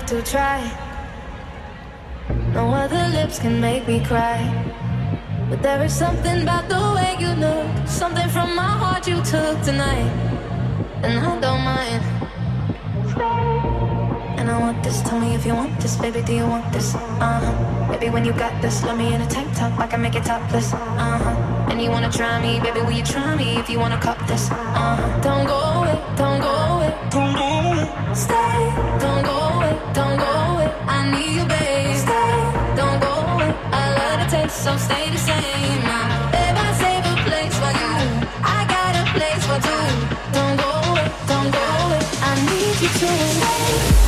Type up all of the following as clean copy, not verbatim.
to try. No other lips can make me cry. But there is something about the way you look, something from my heart you took tonight, and I don't mind. And I want this, tell me if you want this, baby, do you want this? Baby, when you got this, let me in a tank top, I can make it topless. And you wanna try me, baby, will you try me if you wanna cop this? Don't go away, don't go away, don't go away. Stay, don't go away, don't go away. I need you, babe. Stay, don't go away. I love the taste, so stay the same. Babe, I save a place for you. I got a place for two. Don't go away, don't go away. I need you to stay.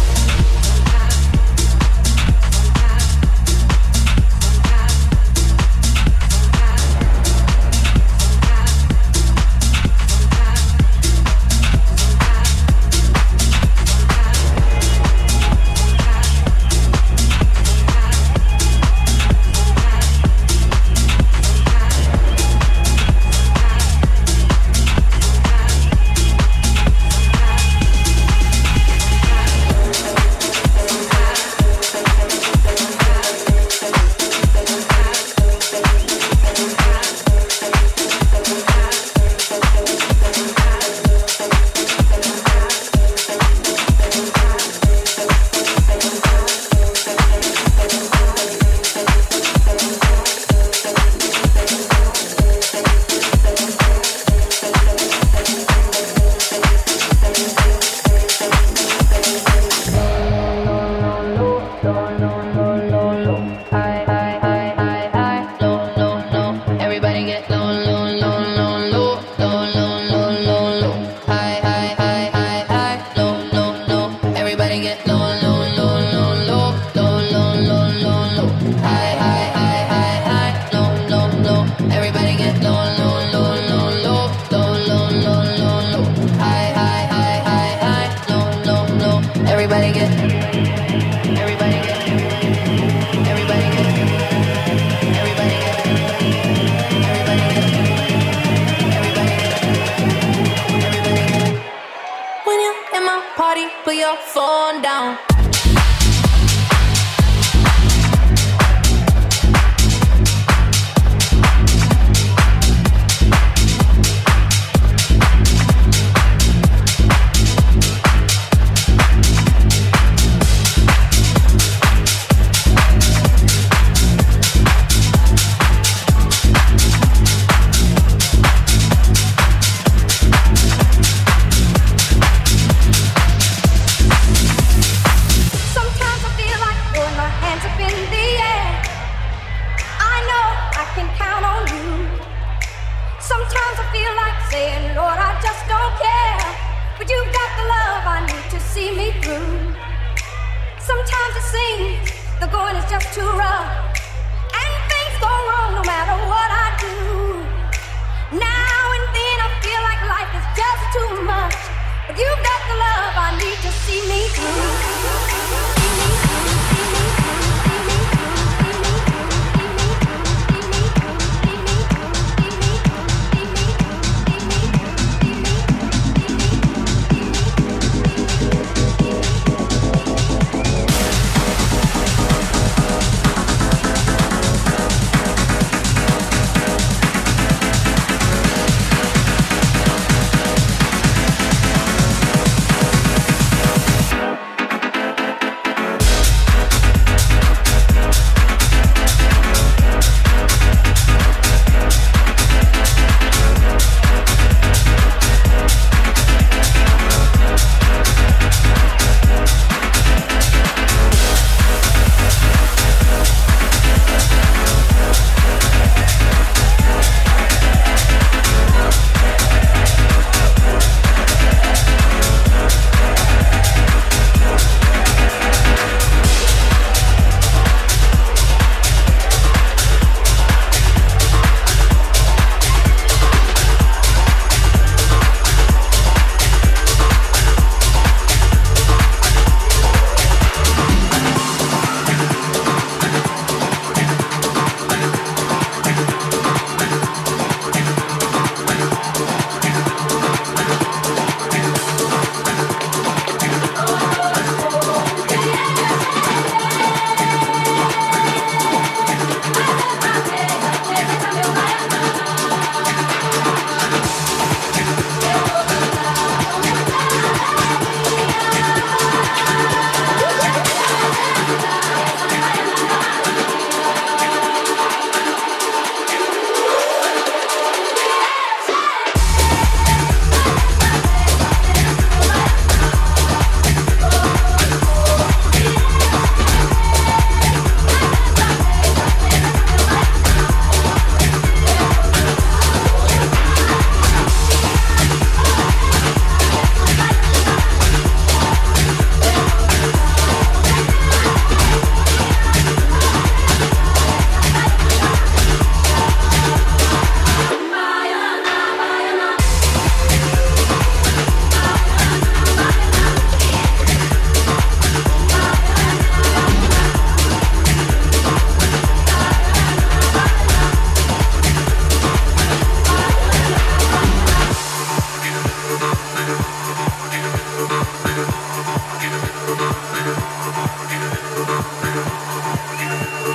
Put your phone down.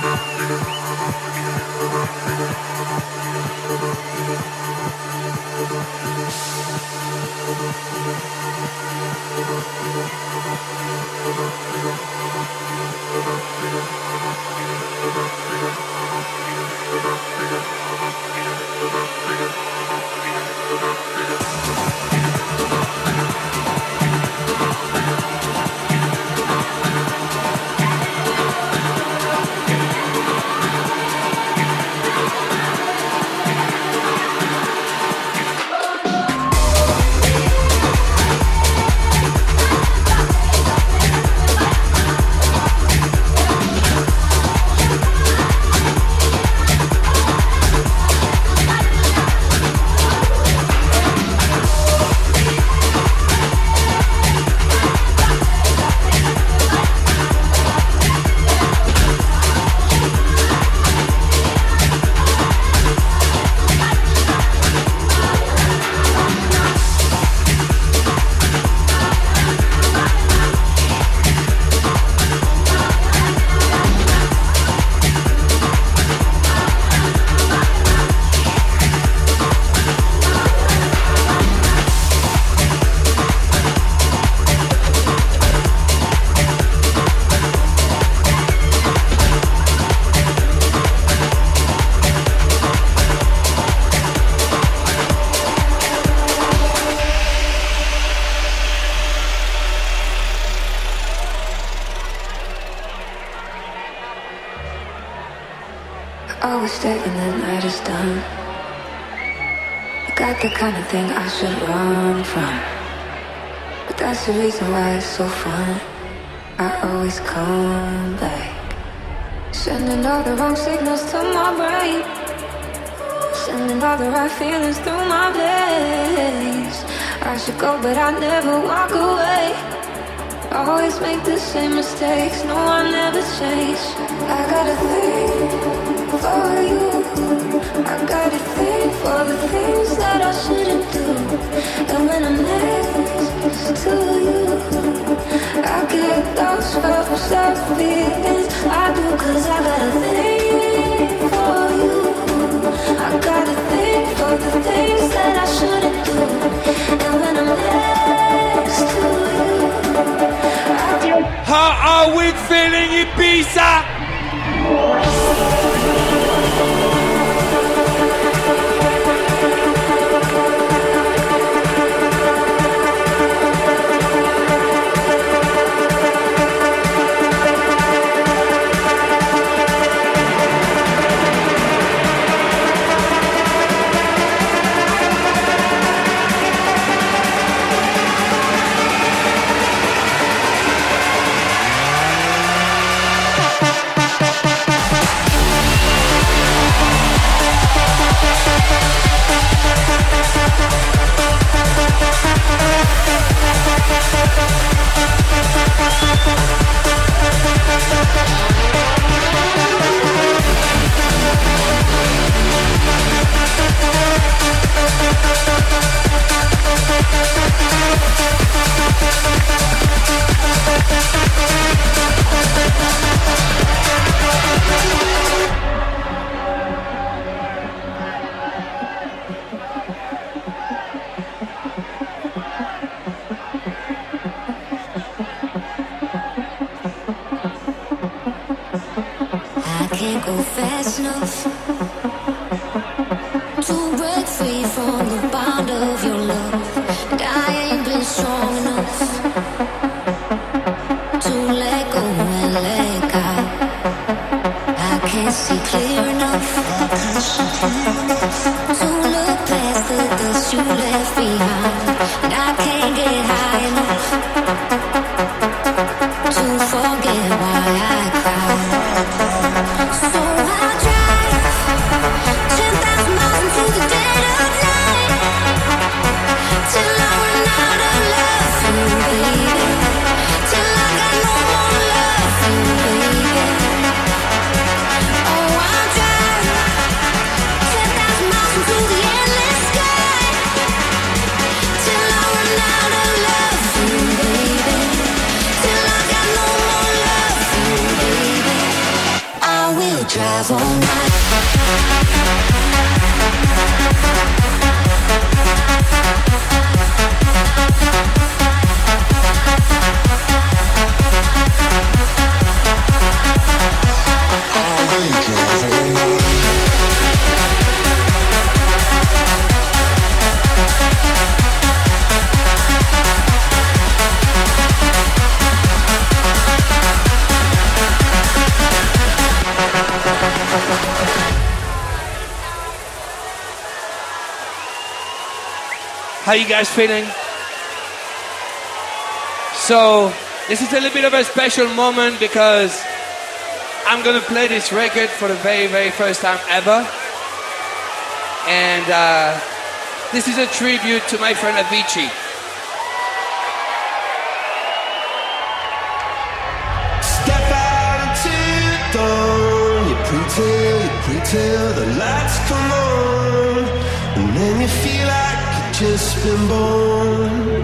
Always stay when the night is done. You got the kind of thing I should run from, but that's the reason why it's so fun. I always come back, sending all the wrong signals to my brain, sending all the right feelings through my veins. I should go, but I never walk away. Always make the same mistakes. No, I never change. I got a thing for you. I got a thing for the things that I shouldn't do. And when I'm next to you, I get those first up feelings. I do, 'cause I got a thing for you. I got a thing for the things that I shouldn't do. And when I'm next to you, how are we feeling, Ibiza? drive all night. How you guys feeling? So, this is a little bit of a special moment because I'm gonna play this record for the very, very first time ever. And this is a tribute to my friend Avicii. Step out into the dawn, you pre-till the lights come on, and then you feel like just been born.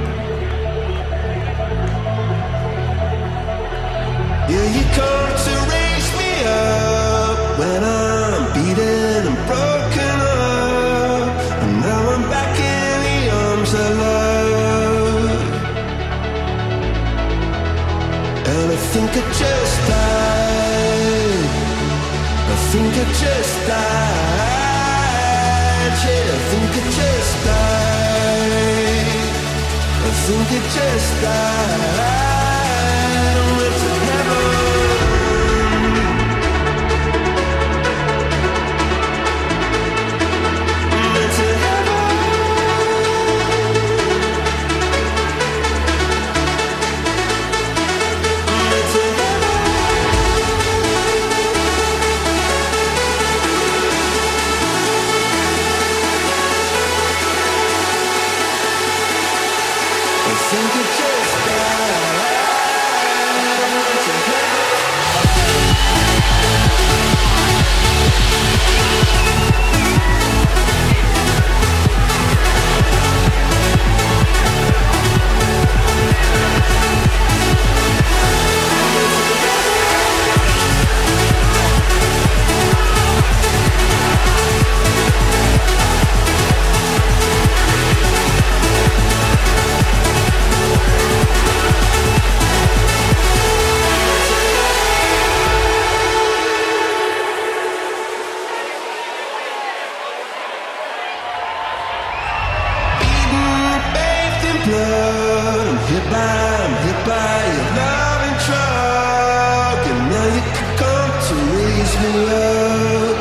Yeah, you come to raise me up when I'm beaten and broken up, and now I'm back in the arms of love. And I think I just died. I think I just died. Yeah, I think I just died. I think it just died. I went to heaven. I went to heaven. I went to heaven. I think it just died. Blood, I'm hit by your love and drug, and now you could come to raise me up.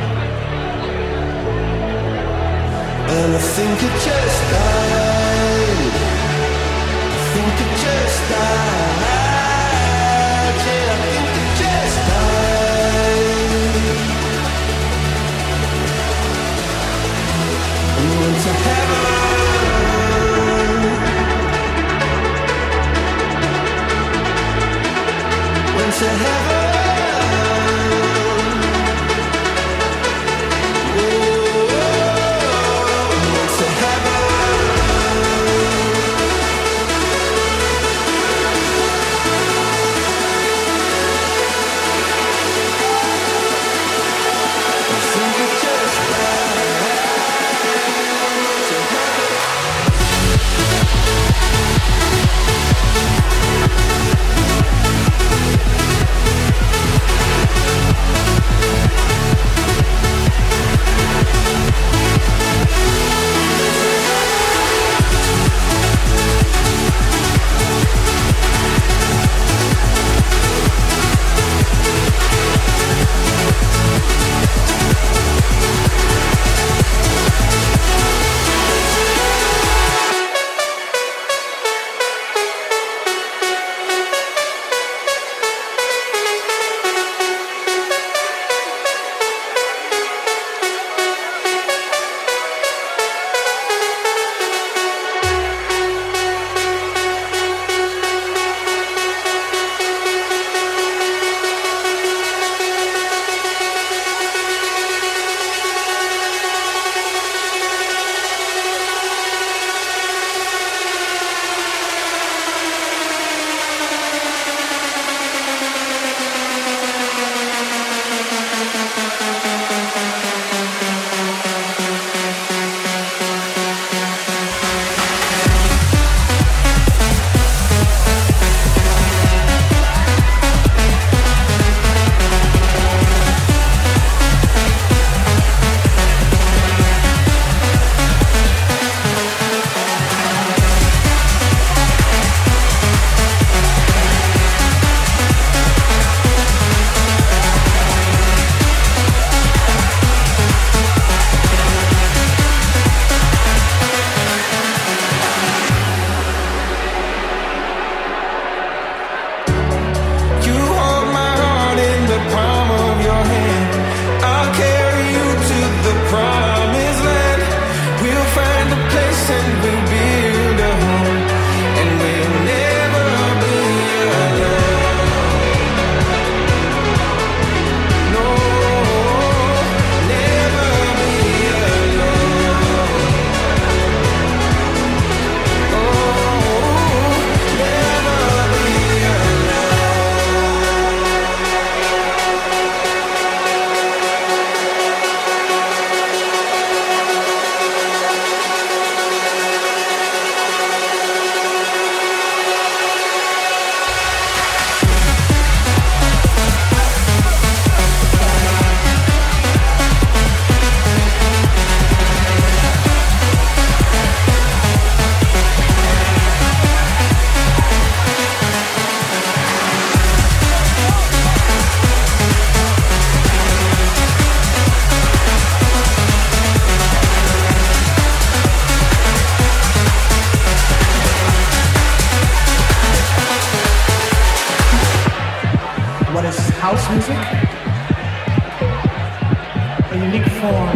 And I think it just died. I think it just died. Yeah, I think it just died. And went to heaven. To heaven, oh, to heaven. form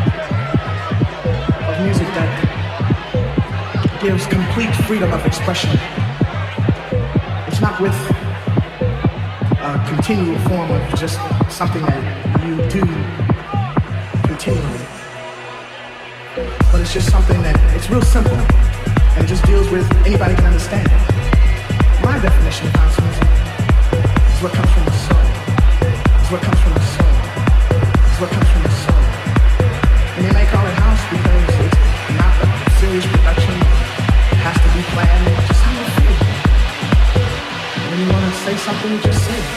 of music that gives complete freedom of expression. It's not with a continual form of just something that you do continually, but it's just something that it's real simple and it just deals with anybody can understand it. My definition of house music is what comes from the soul. It's what comes from the soul. It's what comes from the soul. And they may call it house because it's not a serious production. It has to be planned. It's just how you feel. And when you want to say something, you just say it.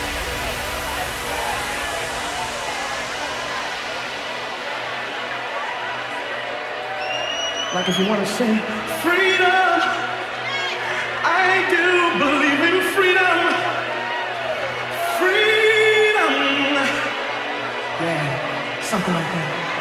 Like if you want to sing freedom, I do believe in freedom. Freedom. Yeah, something like that.